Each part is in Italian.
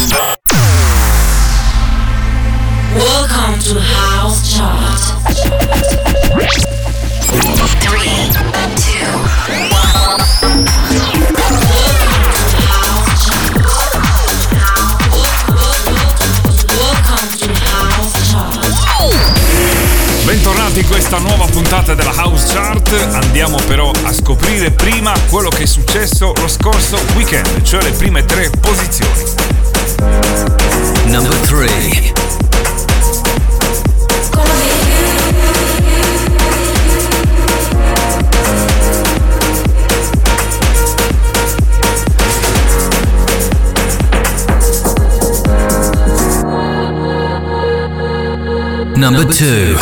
Welcome to House Chart. 3, 2, 1. Bentornati in questa nuova puntata della House Chart. Andiamo però a scoprire prima quello che è successo lo scorso weekend, cioè le prime 3 posizioni. Number 3. Number 2.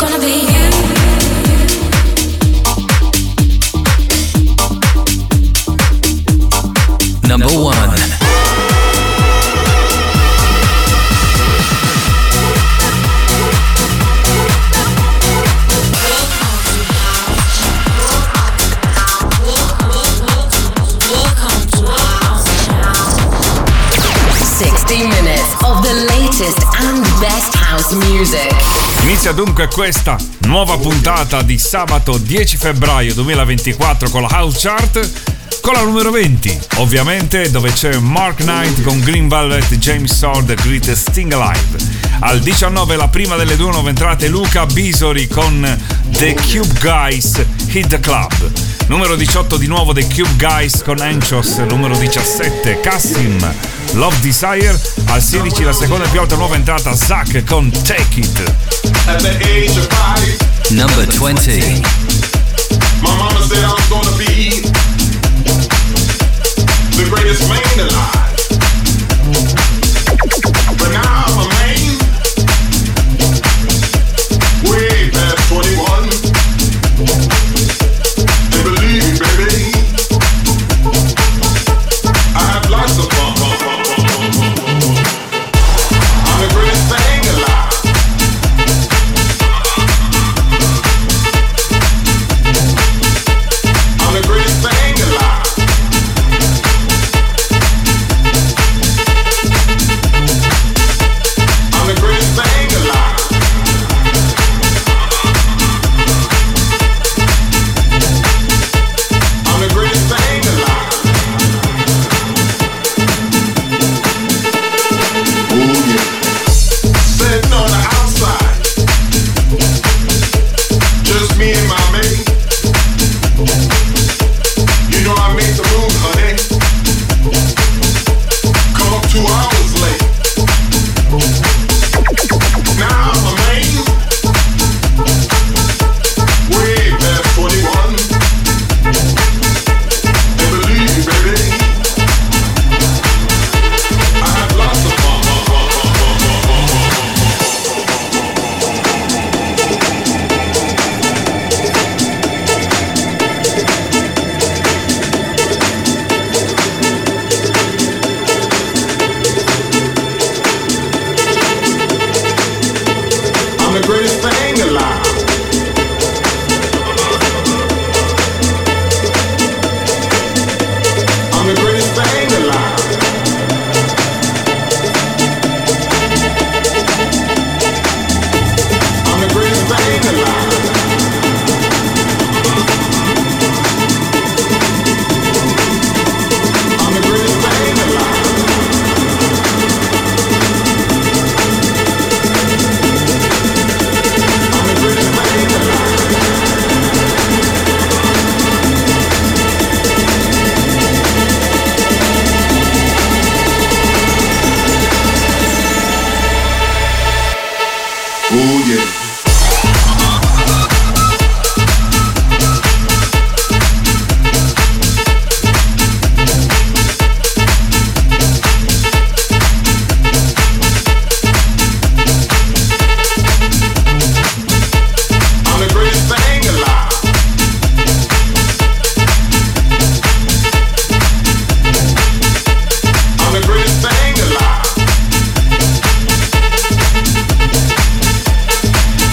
Number 1. Inizia dunque questa nuova puntata di sabato 10 febbraio 2024 con la House Chart, con la numero 20, ovviamente, dove c'è Mark Knight con Green Velvet, James Sword, The Greatest Thing Alive. Al 19 la prima delle 2 nuove entrate, Luca Bisori con The Cube Guys, Hit the Club. Numero 18 di nuovo The Cube Guys con Anchos. Numero 17 Cassim, Love Desire. Al 16 la seconda più alta nuova entrata, Zack con Take It. At the age of 5, Number 20. my mama said I was gonna be the greatest man alive. But now I'm a man way past 21. And believe me, baby, I have lots of fun. I'm the greatest thing alive. I'm the greatest thing alive. I'm the greatest thing alive. I'm the greatest thing alive. Oh yeah. Sitting on the outside, just me and my mate. You know I made the moon, honey. Come up 2 hours late. Now I'm a man, way past 21. And believe me, baby, I have lots of fun. I'm the greatest thing alive. I'm the greatest thing alive. I'm the greatest thing alive. I'm the greatest thing alive. I'm the greatest thing alive. Oh yeah. I'm the greatest thing alive. I'm the greatest thing alive.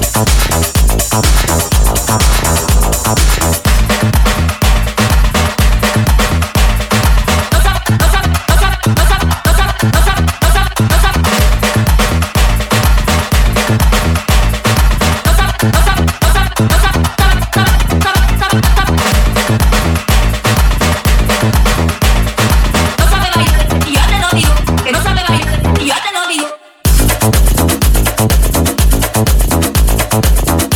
Que no sabe bailar, y yo te lo digo.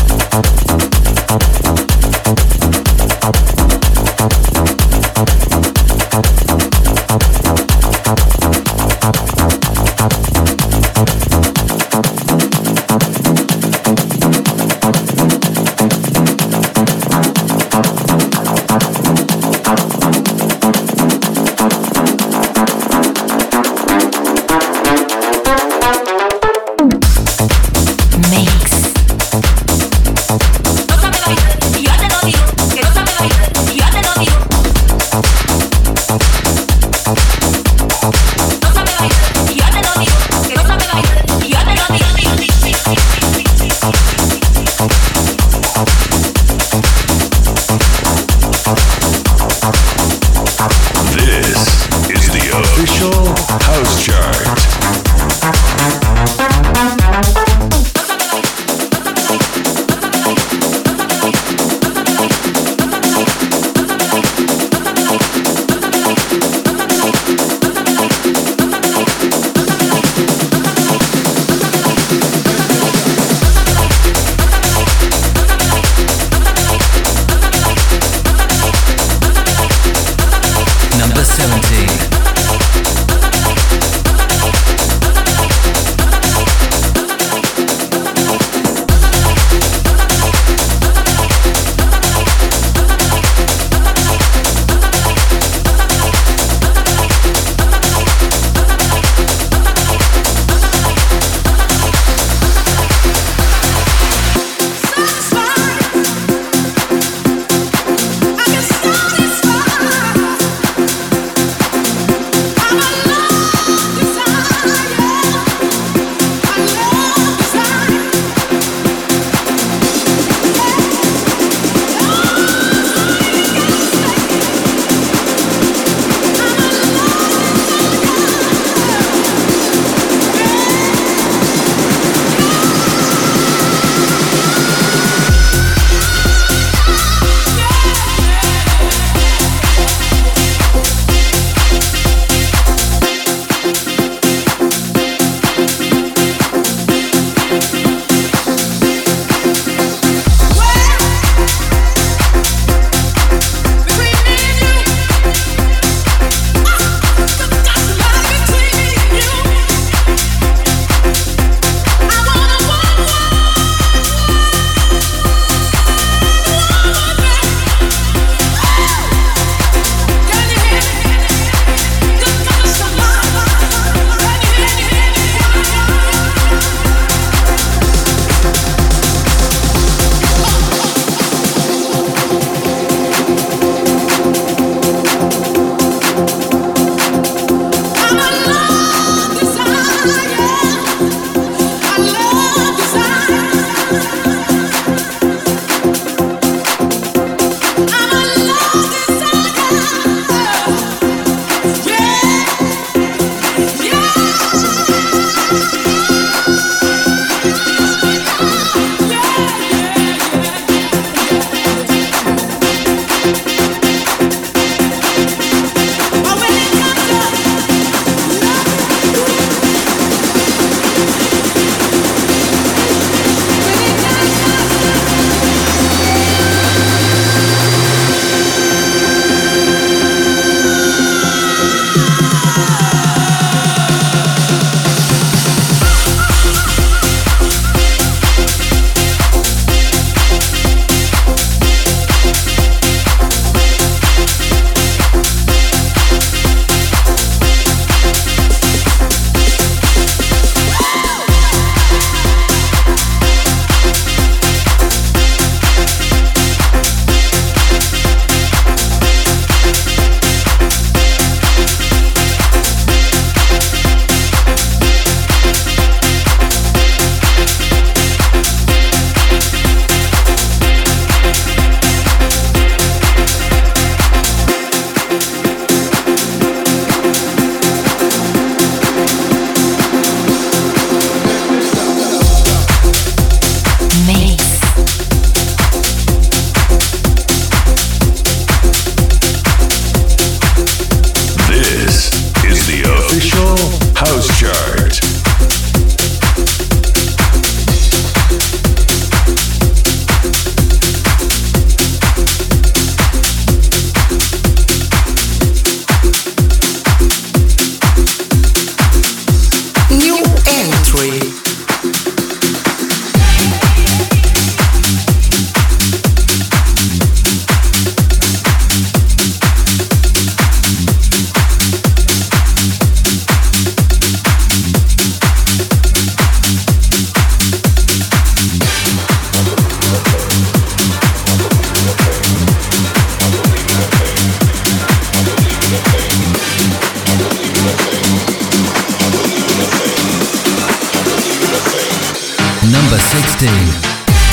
15.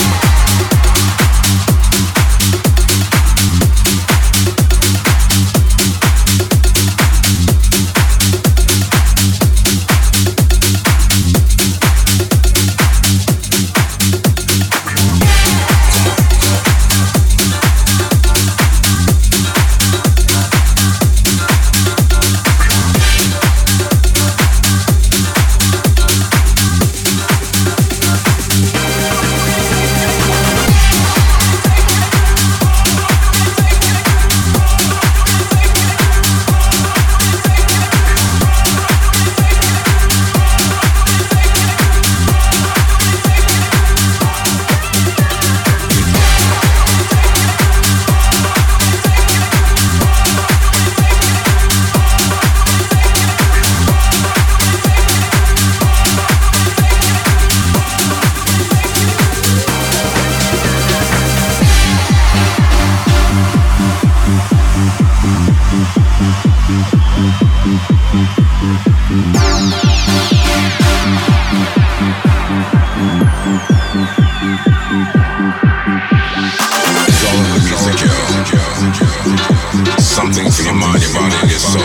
Something for your mind, your body, and your soul.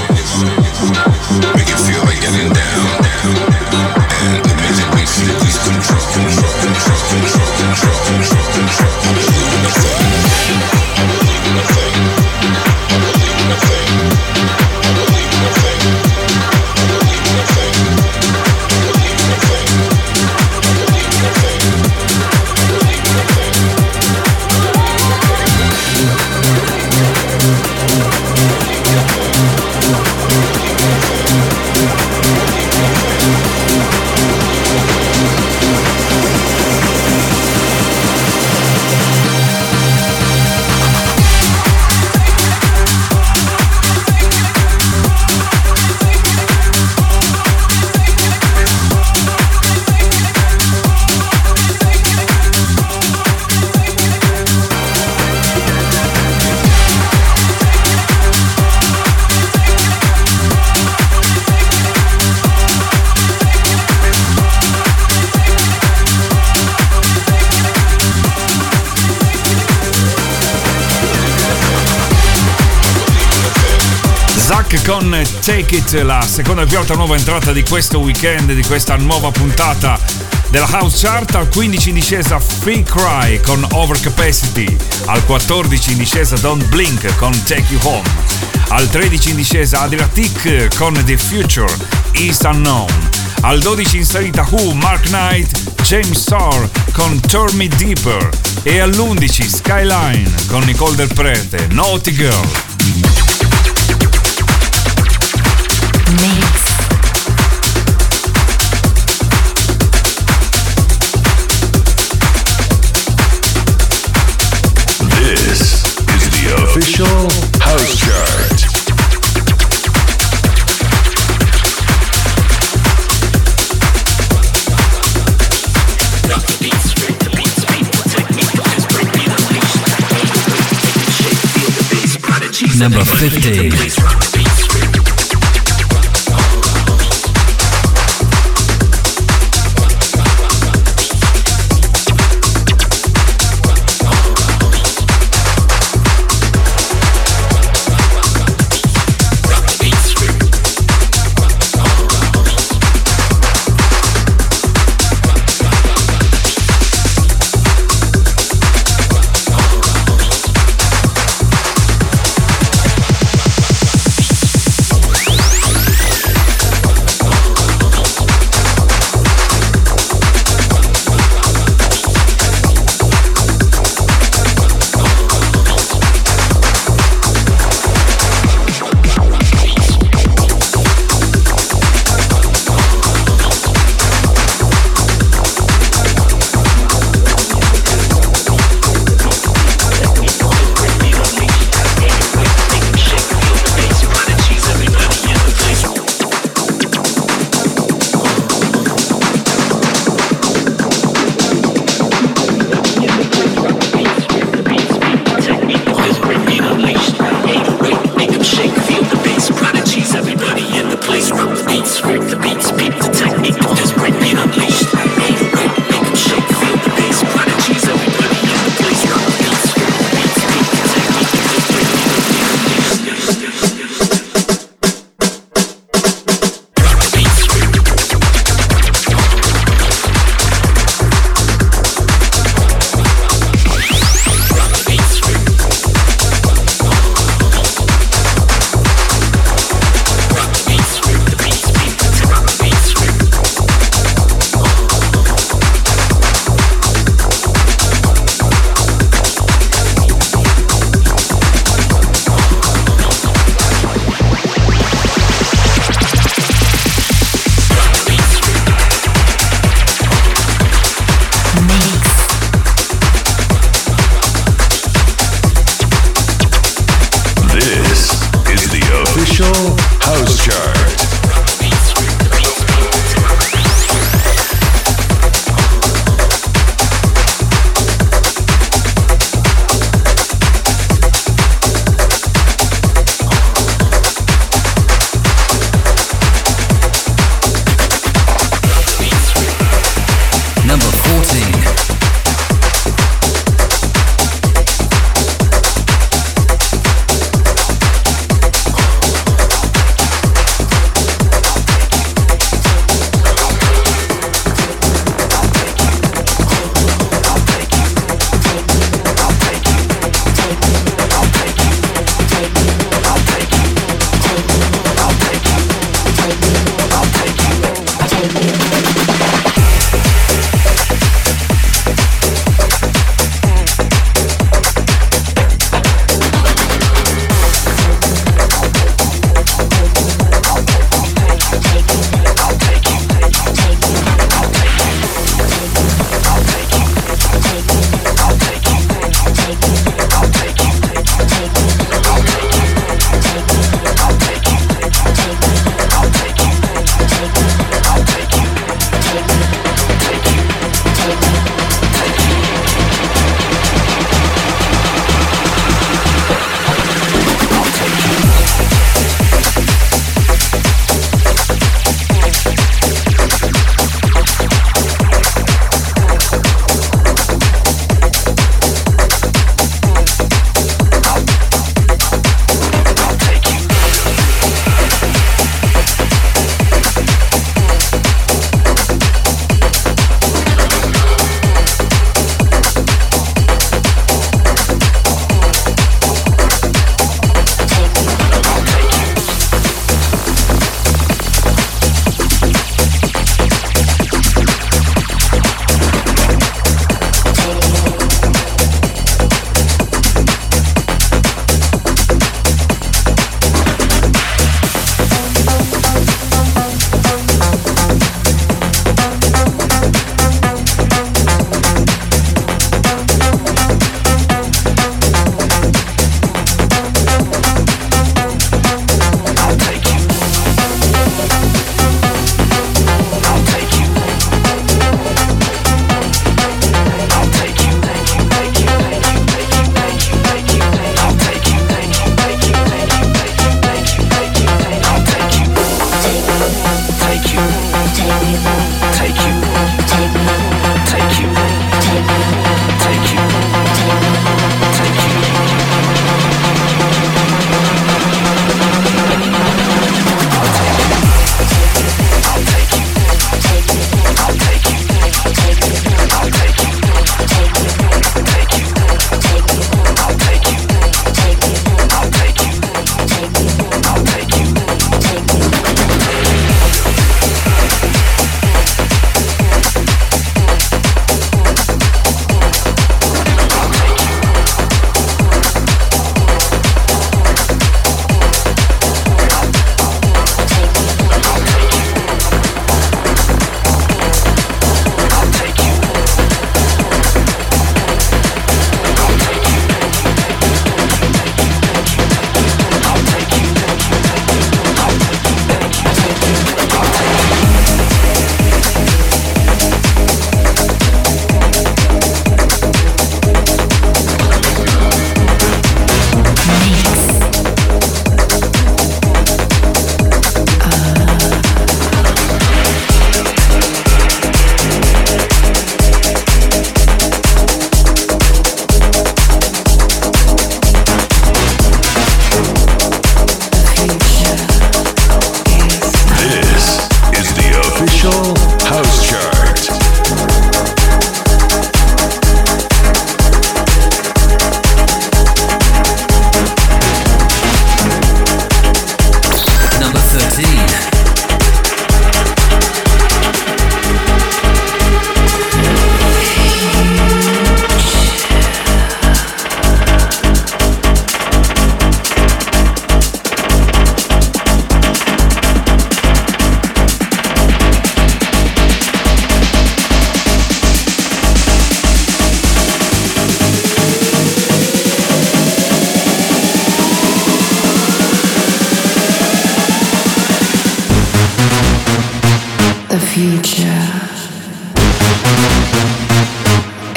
Make it feel like getting down. And the music makes you lose control. I believe in the thing. I believe in the thing. I believe in the thing. I believe in the thing. I believe in the thing. I believe in the thing. I believe in the thing. I believe in the thing. Con Take It, la seconda e più alta nuova entrata di questo weekend, di questa nuova puntata della House Chart. Al 15 in discesa Free Cry con Overcapacity, al 14 in discesa Don't Blink con Take You Home, al 13 in discesa Adriatic con The Future, East Unknown, al 12 in salita Who, Mark Knight, James Starr con Turn Me Deeper e all'11 Skyline con Nicole Del Prete, Naughty Girl. Mix. This is the official House Chart. Number 15.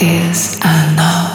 is enough.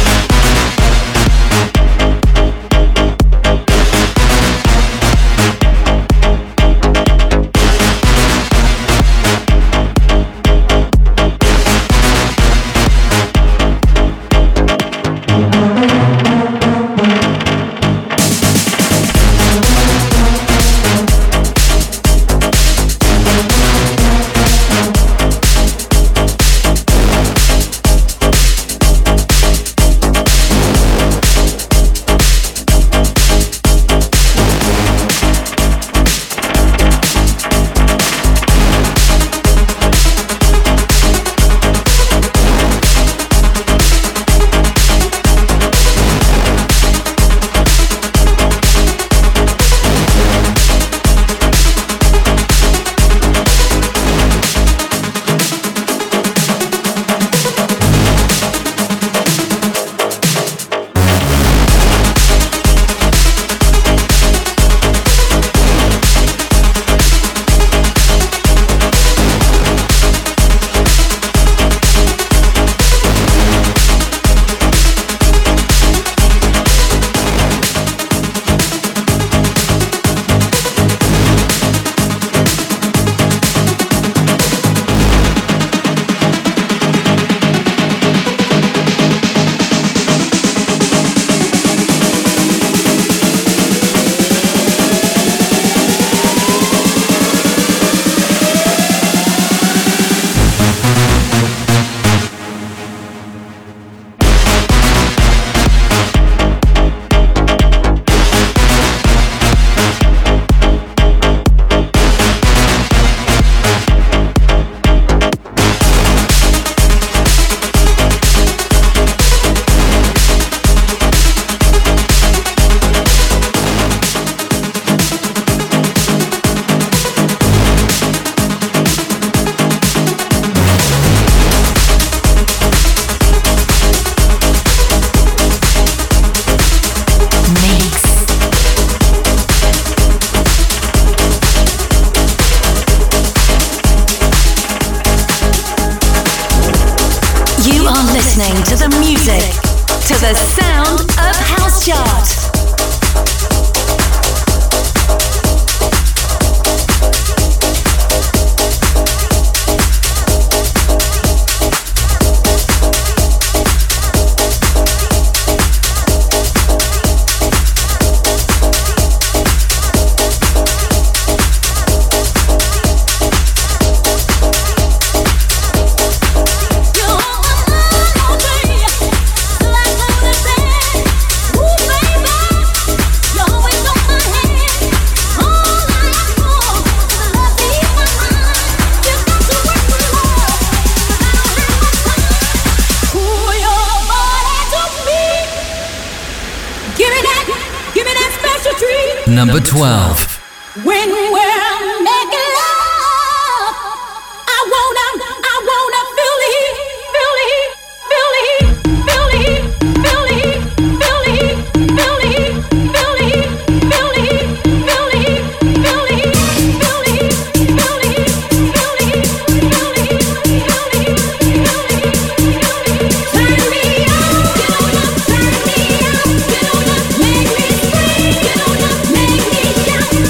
listening to the music, to the sound of House Chart. Number 12. When we're making love, I wanna feel the heat, feel the heat, feel the heat, feel the heat, feel the heat, feel the heat, feel the heat, feel the heat, feel the heat, feel the heat, feel the heat, feel the heat, feel the heat, feel the heat, feel the heat, feel the heat, feel the heat. Turn me on, get on up, turn me on, get on up, make me scream, get on up, make me shout.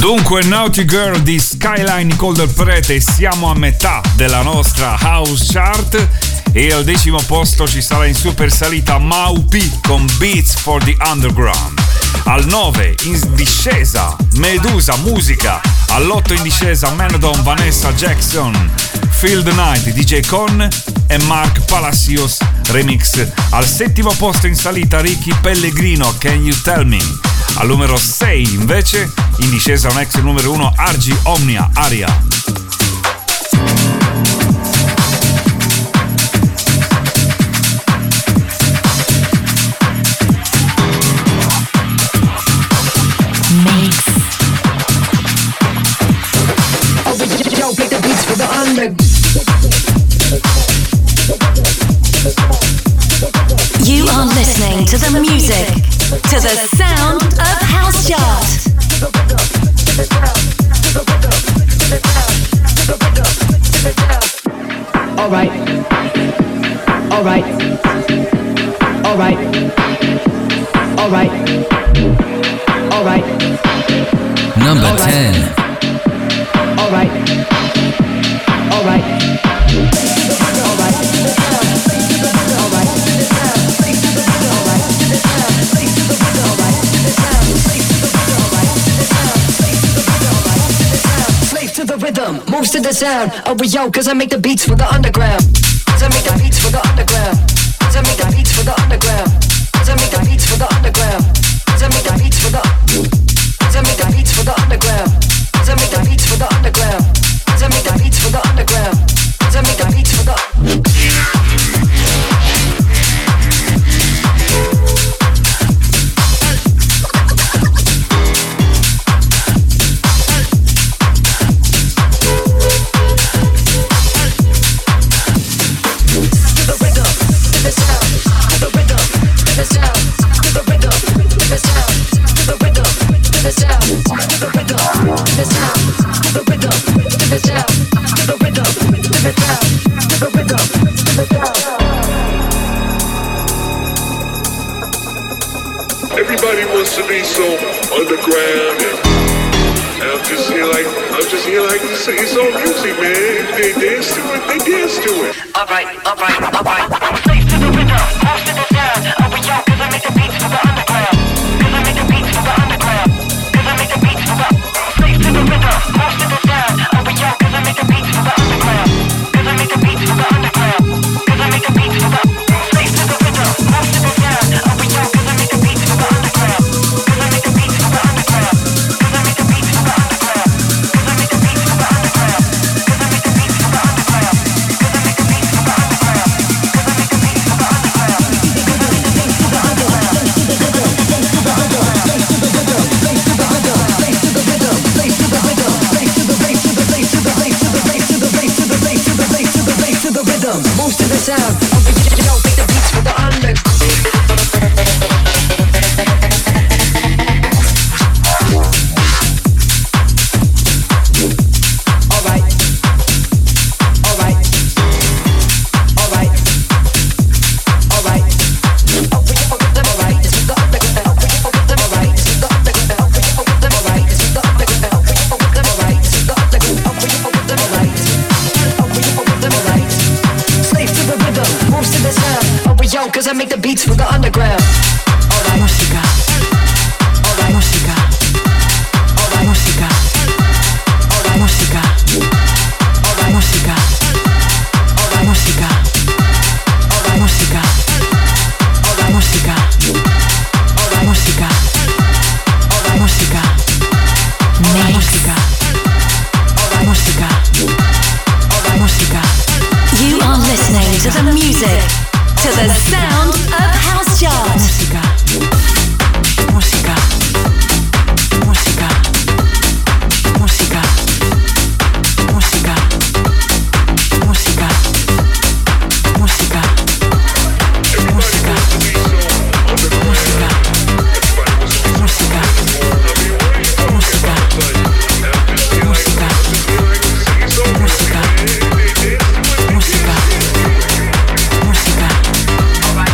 Dunque, Naughty Girl di Skyline Nicole Del Prete, siamo a metà della nostra House Chart e al 10° posto ci sarà in super salita Mau P con Beats for the Underground. Al 9 in discesa Medusa Musica, all'8 in discesa Manodon Vanessa Jackson, Feel the Night DJ Con e Mark Palacios Remix. Al 7° posto in salita Ricky Pellegrino Can You Tell Me. Al numero 6 invece in discesa un ex numero 1 Argy Omnia Aria. You are listening to the music, to the sound of House Chart. All right, all right, all right, all right, all right. Number All right. 10. All right, all right, all right, all right. Slave to the rhythm, moves to the sound. Oh, yo, cause I make the beats for the underground. Cause I make the beats for the underground. Cause I make the beats for the underground. Cause I make the beats for the underground. Cause I make the beats for the. Cause I make the beats for the underground. Cause I make the beats for the underground. Cause I make the beats for the underground. Cause I make the beats for the. Everybody wants to be so underground, and I'm just here like it's all music, man. They dance to it, they dance to it. All right, all right, all right. Slave to the rhythm, moves to the sound. Oh, we yo, cause I make the beats for the underground. Cause I make the beats for the underground. Cause I make the beats for the. Slave to the rhythm, moves to the sound. Oh, we yo, cause I make the beats for the underground. Cause I make the beats for the underground. Cause I make the beats for the. Slave to the rhythm, moves to the sound. Oh, we yo, cause I make the beats for the underground. Cause I make the beats for the underground. Cause I make the beats for the underground. Cause I make the beats for the underground. Cause I make the beats for the underground. Cause I make the beats for the underground. Cause I make the beats for the moves to the sound. Yo, make the beats for the under. All right, all right, all right, all right. All right, it's with the underground. All right, it's with the underground. All right, it's with the underground. All right, it's with the underground. All right. Slave to the rhythm, moves to the sound. Oh, but yo, cause I make the beats for the underground. Alright, música. Alright, música. Alright, música. Alright, música. Alright, música. Alright, música. Alright, música. Alright, música. Alright, música. Alright, música. Alright, música. Alright, música. Alright, música. You are listening to the music, to the sound of House Chart. Música. Música. Música. Música. Música. Música. Música. Música. Música. Música. Música. Música. Música. Música. Música.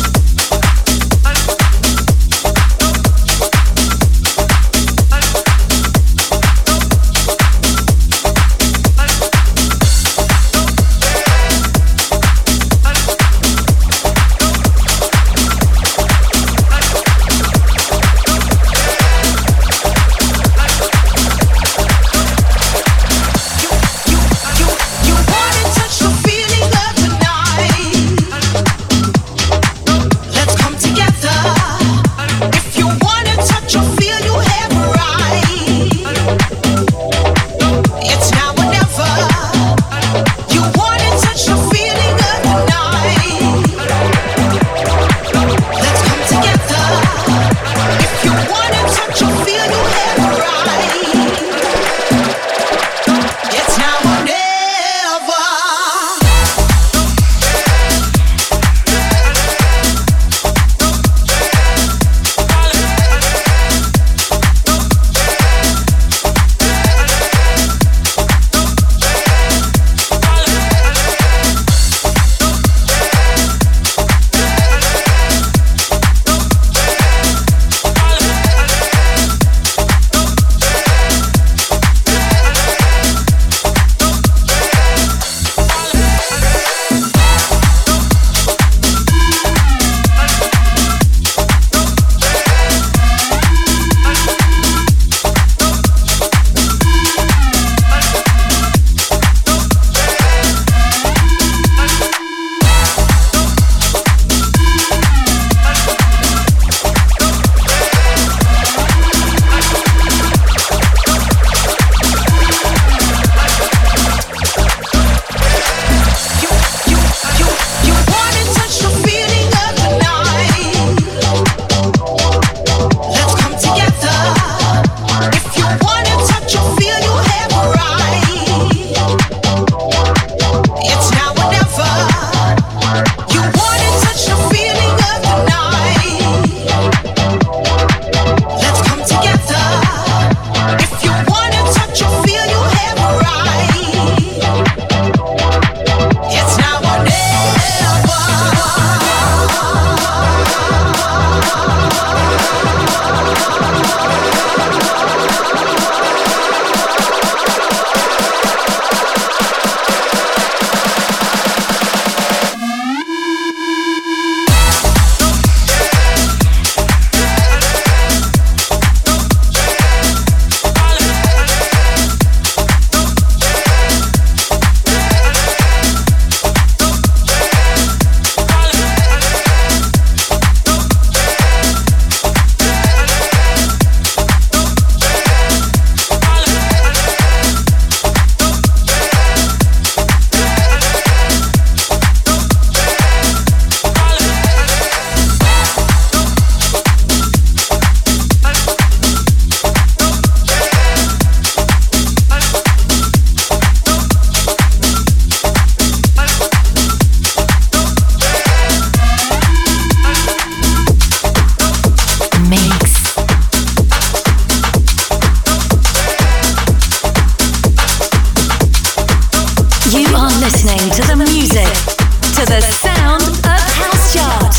listening to the music, to the sound of House Chart.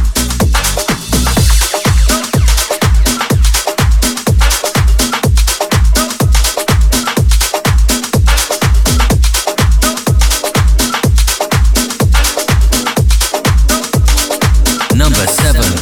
Number 7.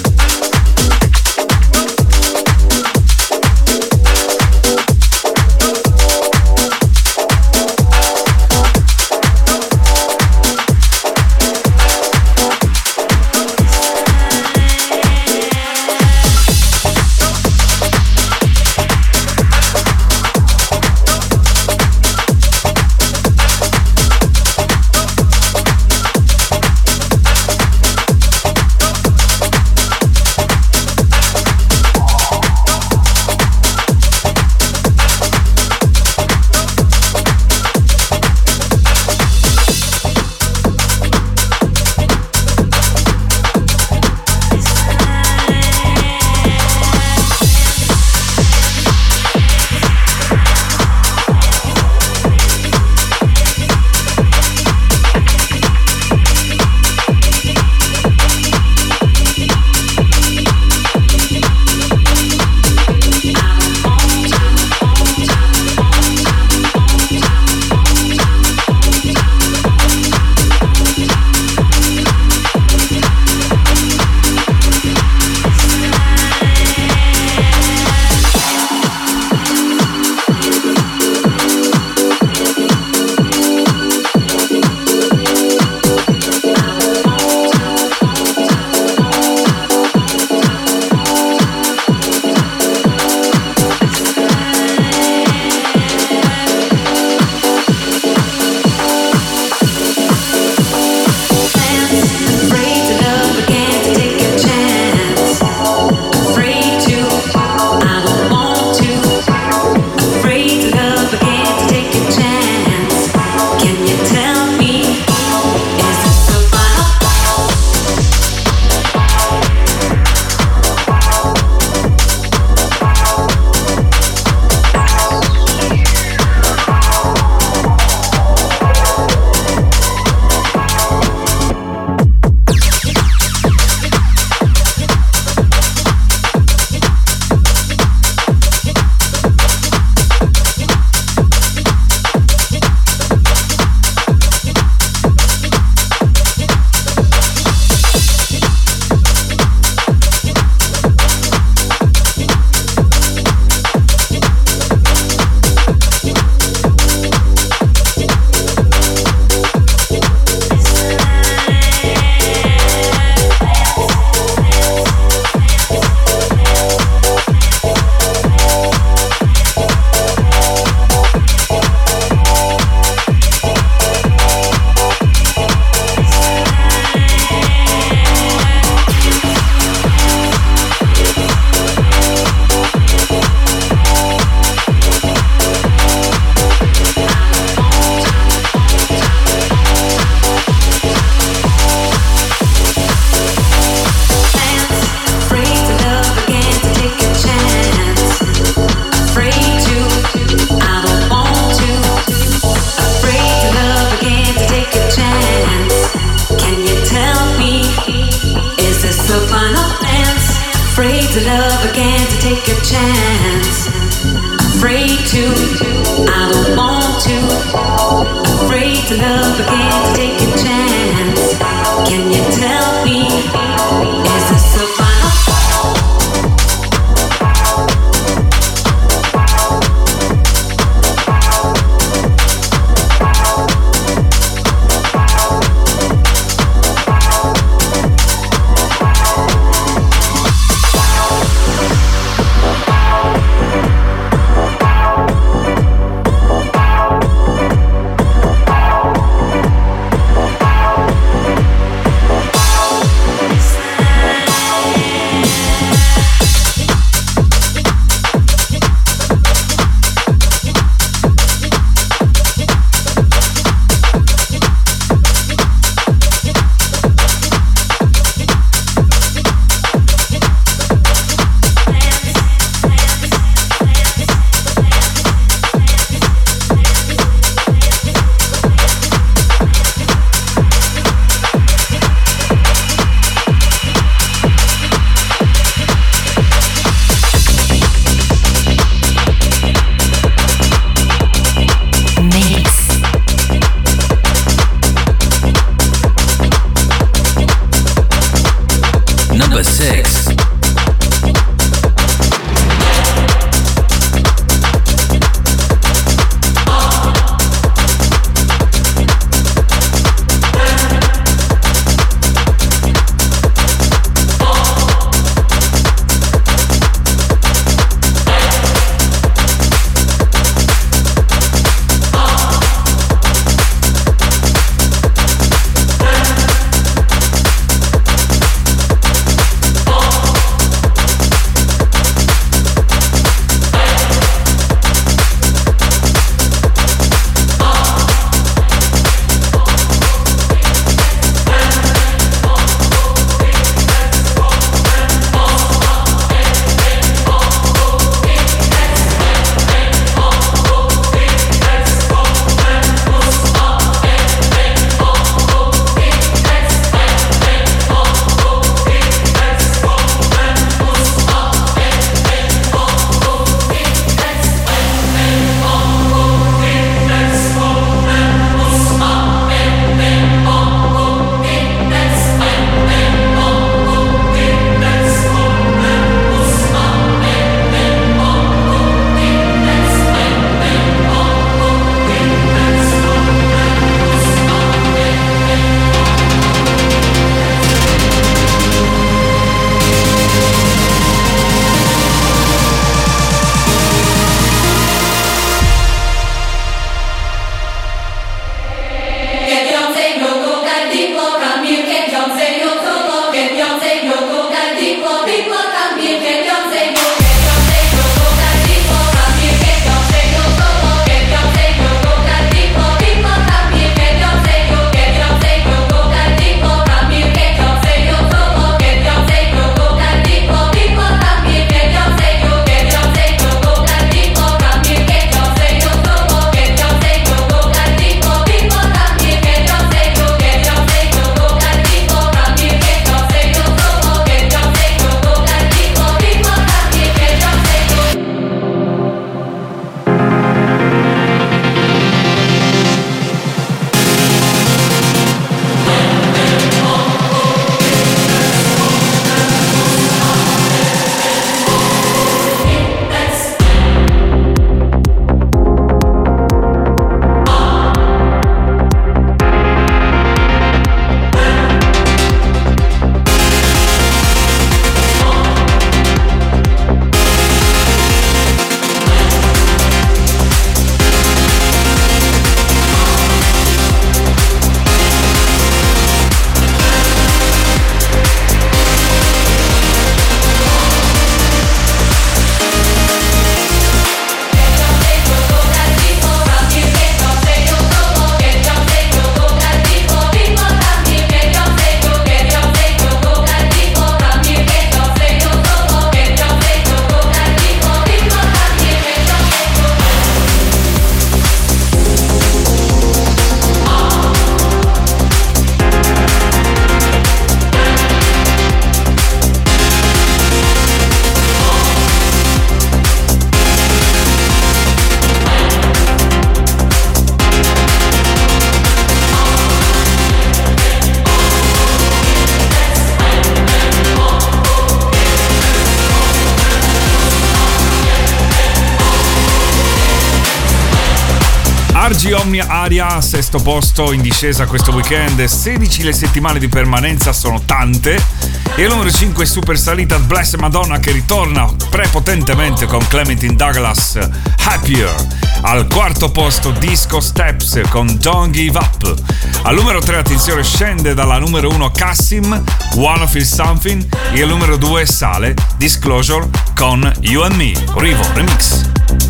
Argy Omnia Aria, sesto posto, in discesa questo weekend. 16 le settimane di permanenza, sono tante. E al numero 5 super salita Blessed Madonna, che ritorna prepotentemente con Clementine Douglas, Happier. Al quarto posto Disco Steps con Don't Give Up. Al numero 3, attenzione, scende dalla numero 1 Cassim, Wanna Feel Something. E al numero 2 sale Disclosure con You and Me, Rivo Remix.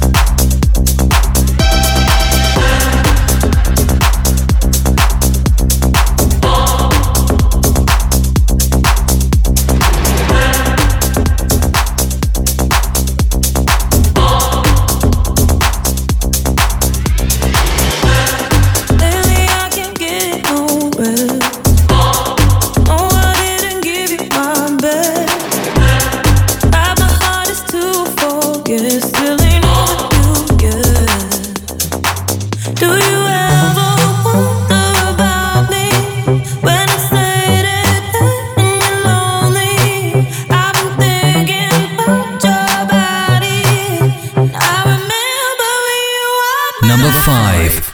Number 5.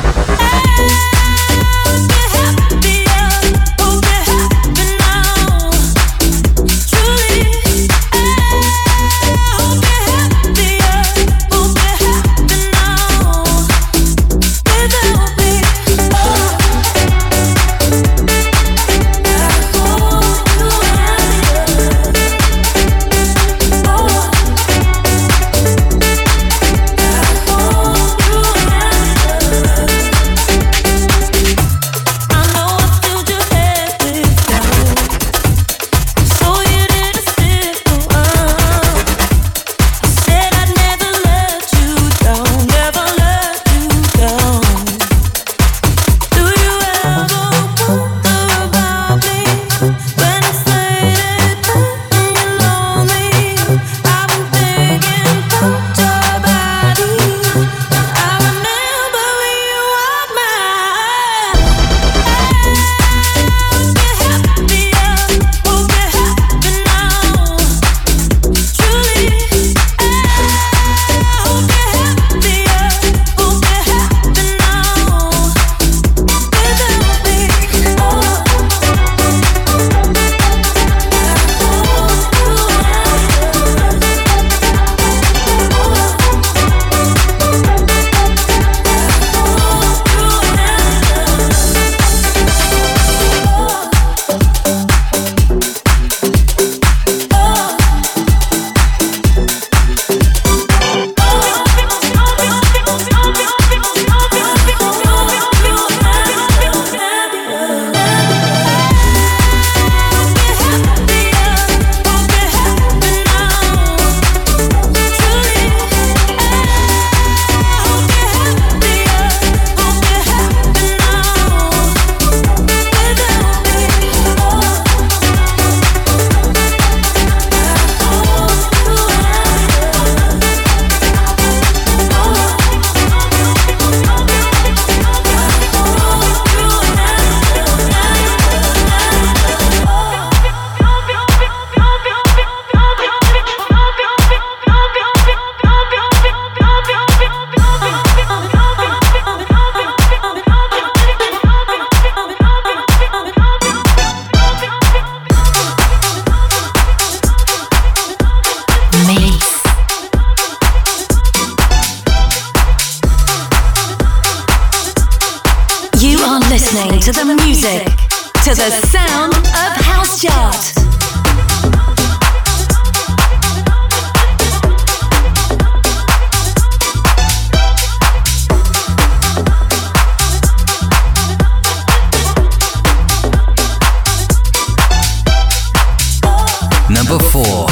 listening to the music, to the sound of House Chart. Number 4.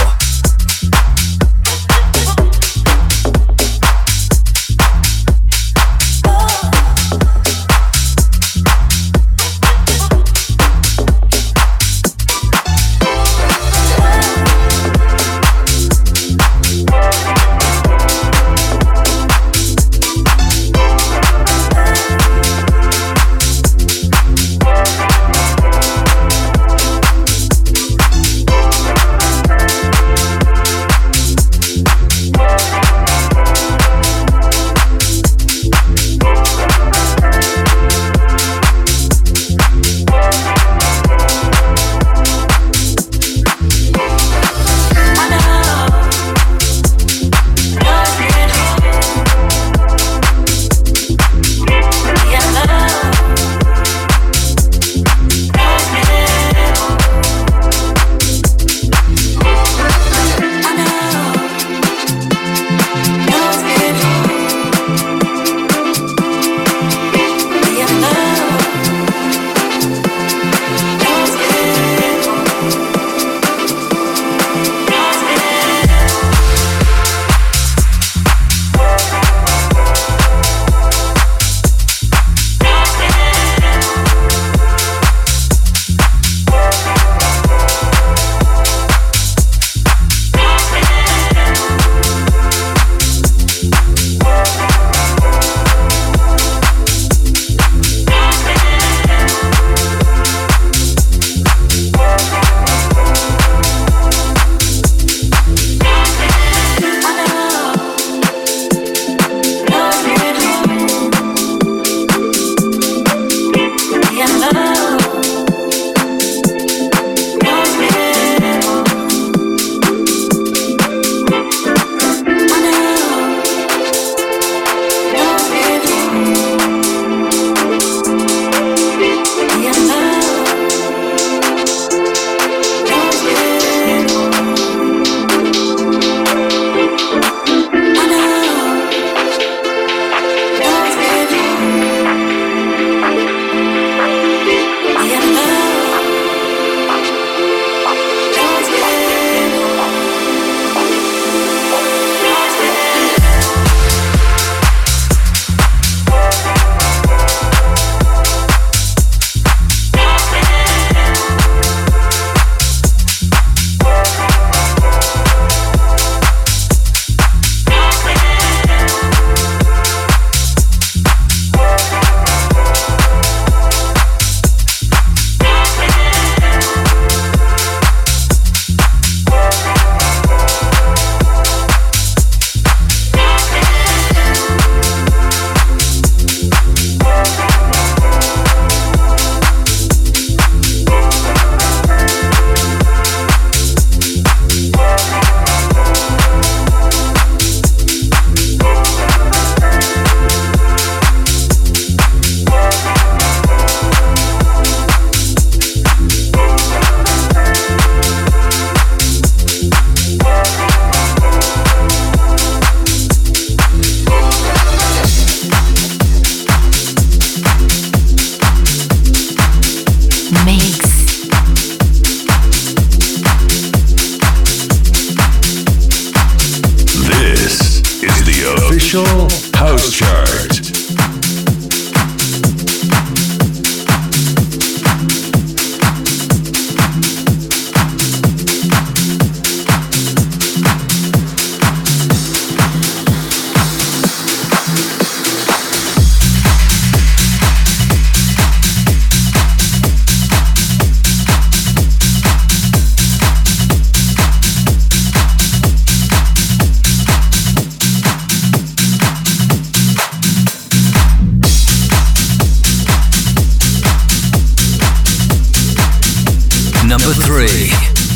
House Chart. Number 3.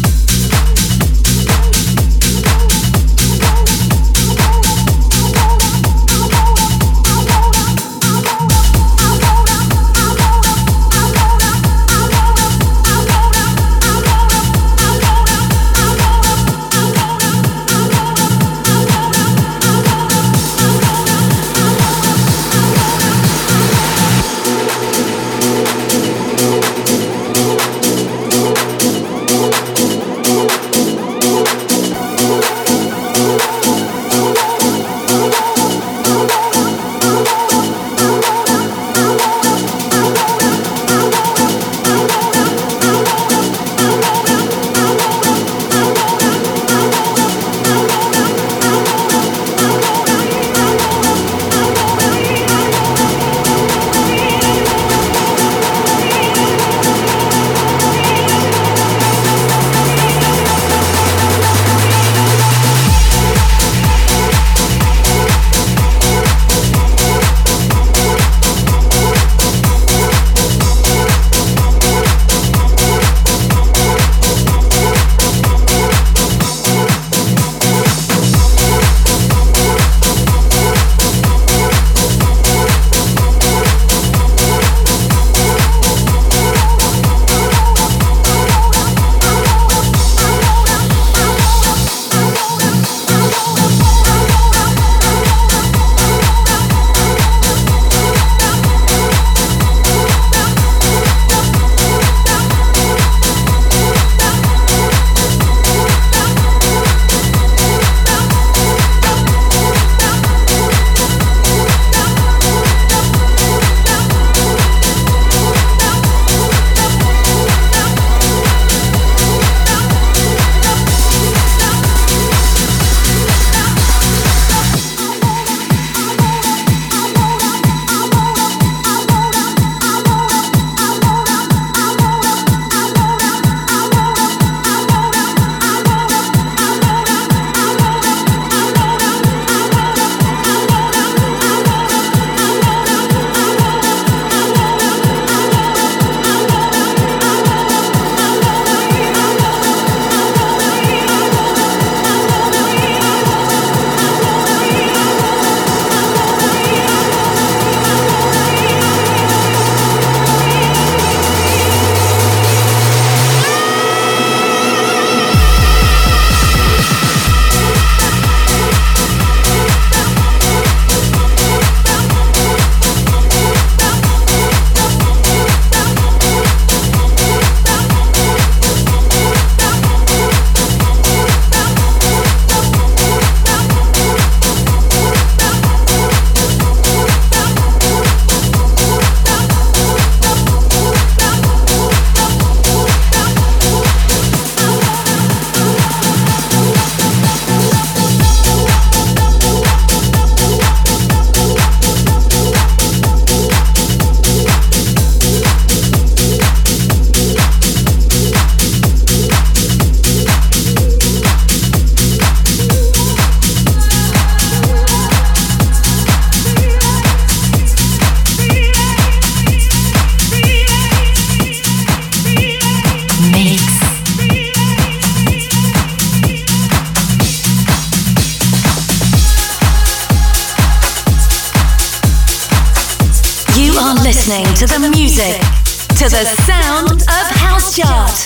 listening to the music, to the sound of House Chart.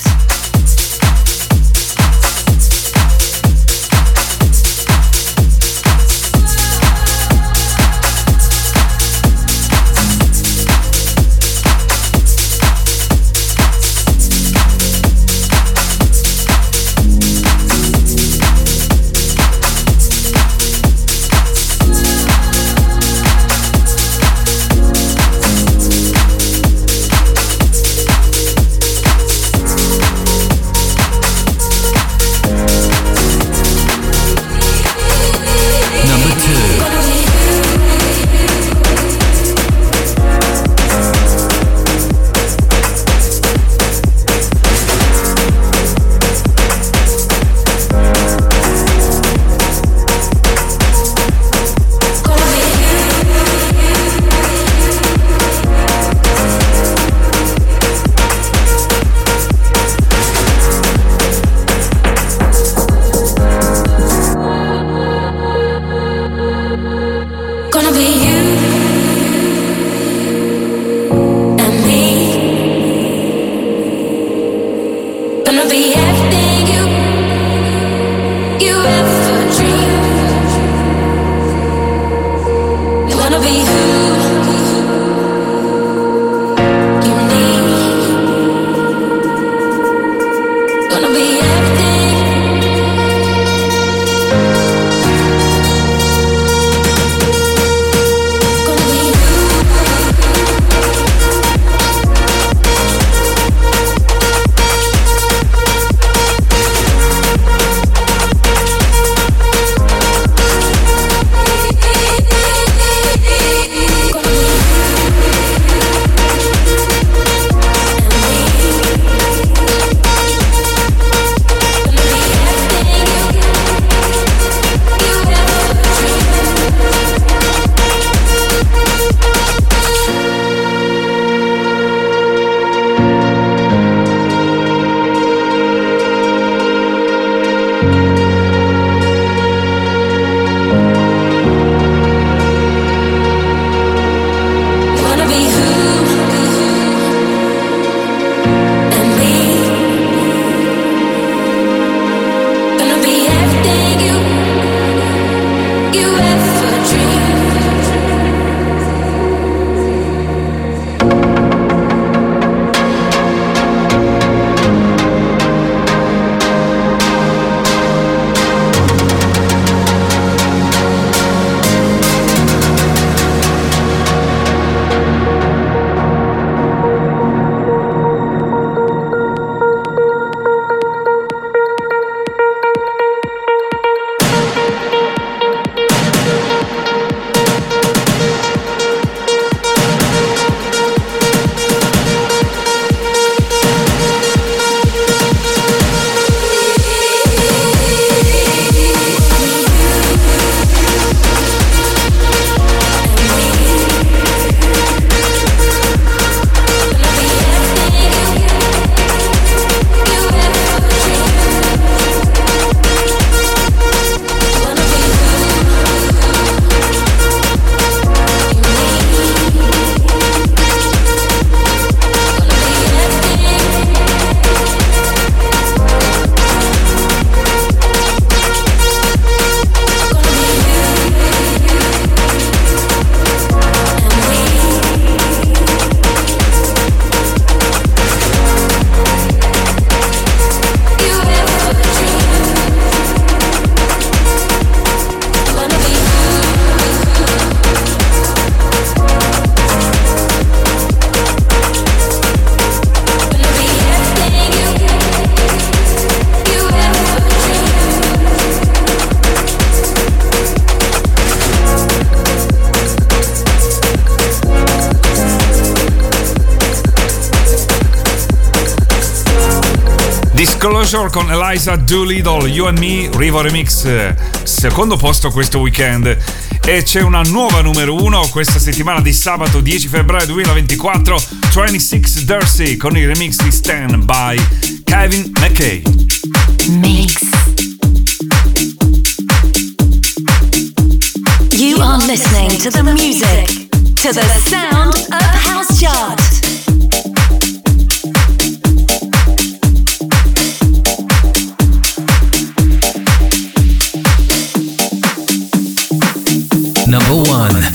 Disclosure con Eliza Doolittle, You and Me, Rivo Remix, secondo posto questo weekend. E c'è una nuova numero 1 questa settimana di sabato 10 febbraio 2024, 26 Darcy con il remix di Stand by Kevin McKay. Mix. You are listening to the music, to the sound of House Chart. Number 1.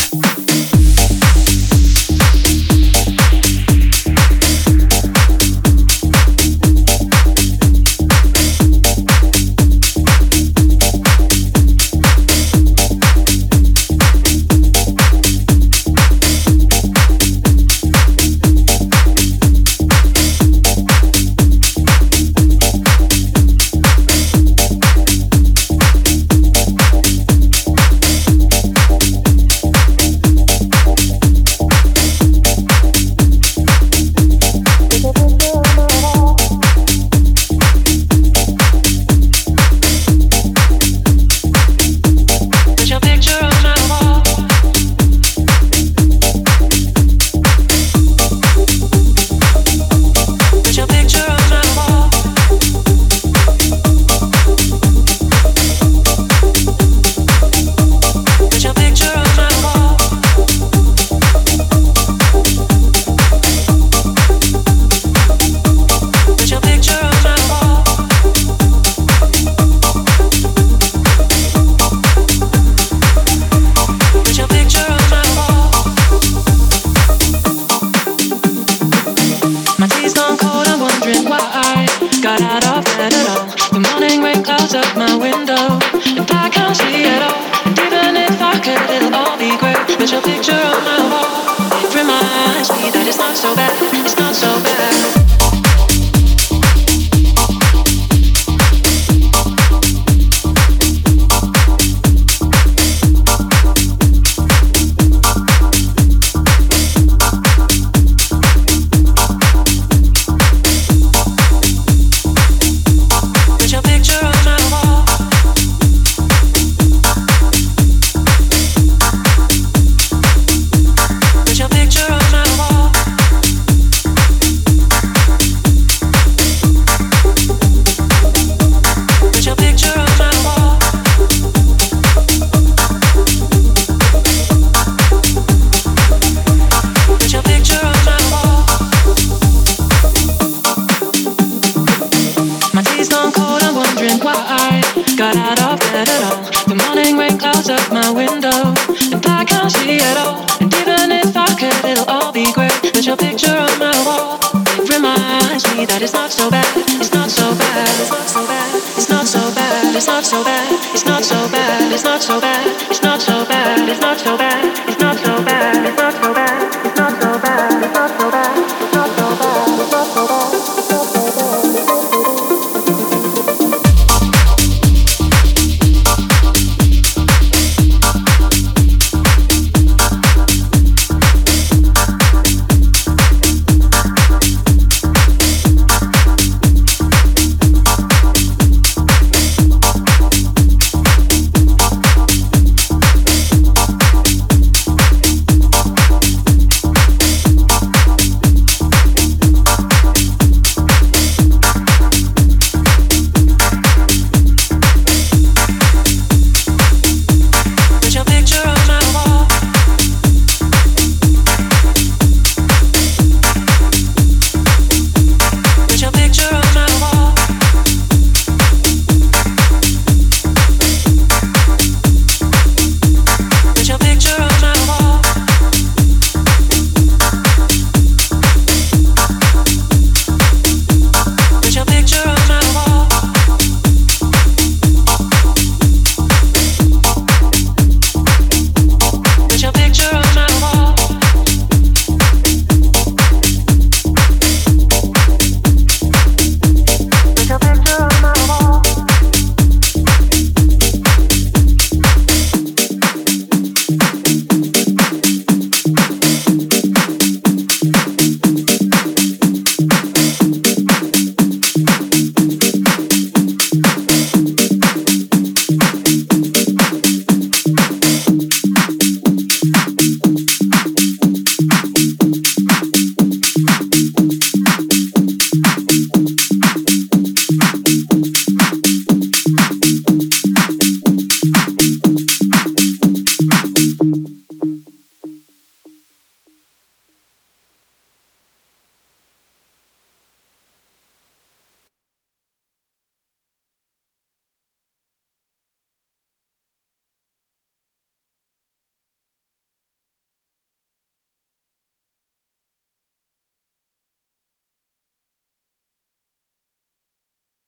It's not so bad, it's not so bad, it's not so bad, it's not so bad, it's not so bad, it's not so bad, it's not so bad, it's not so bad, it's not so bad.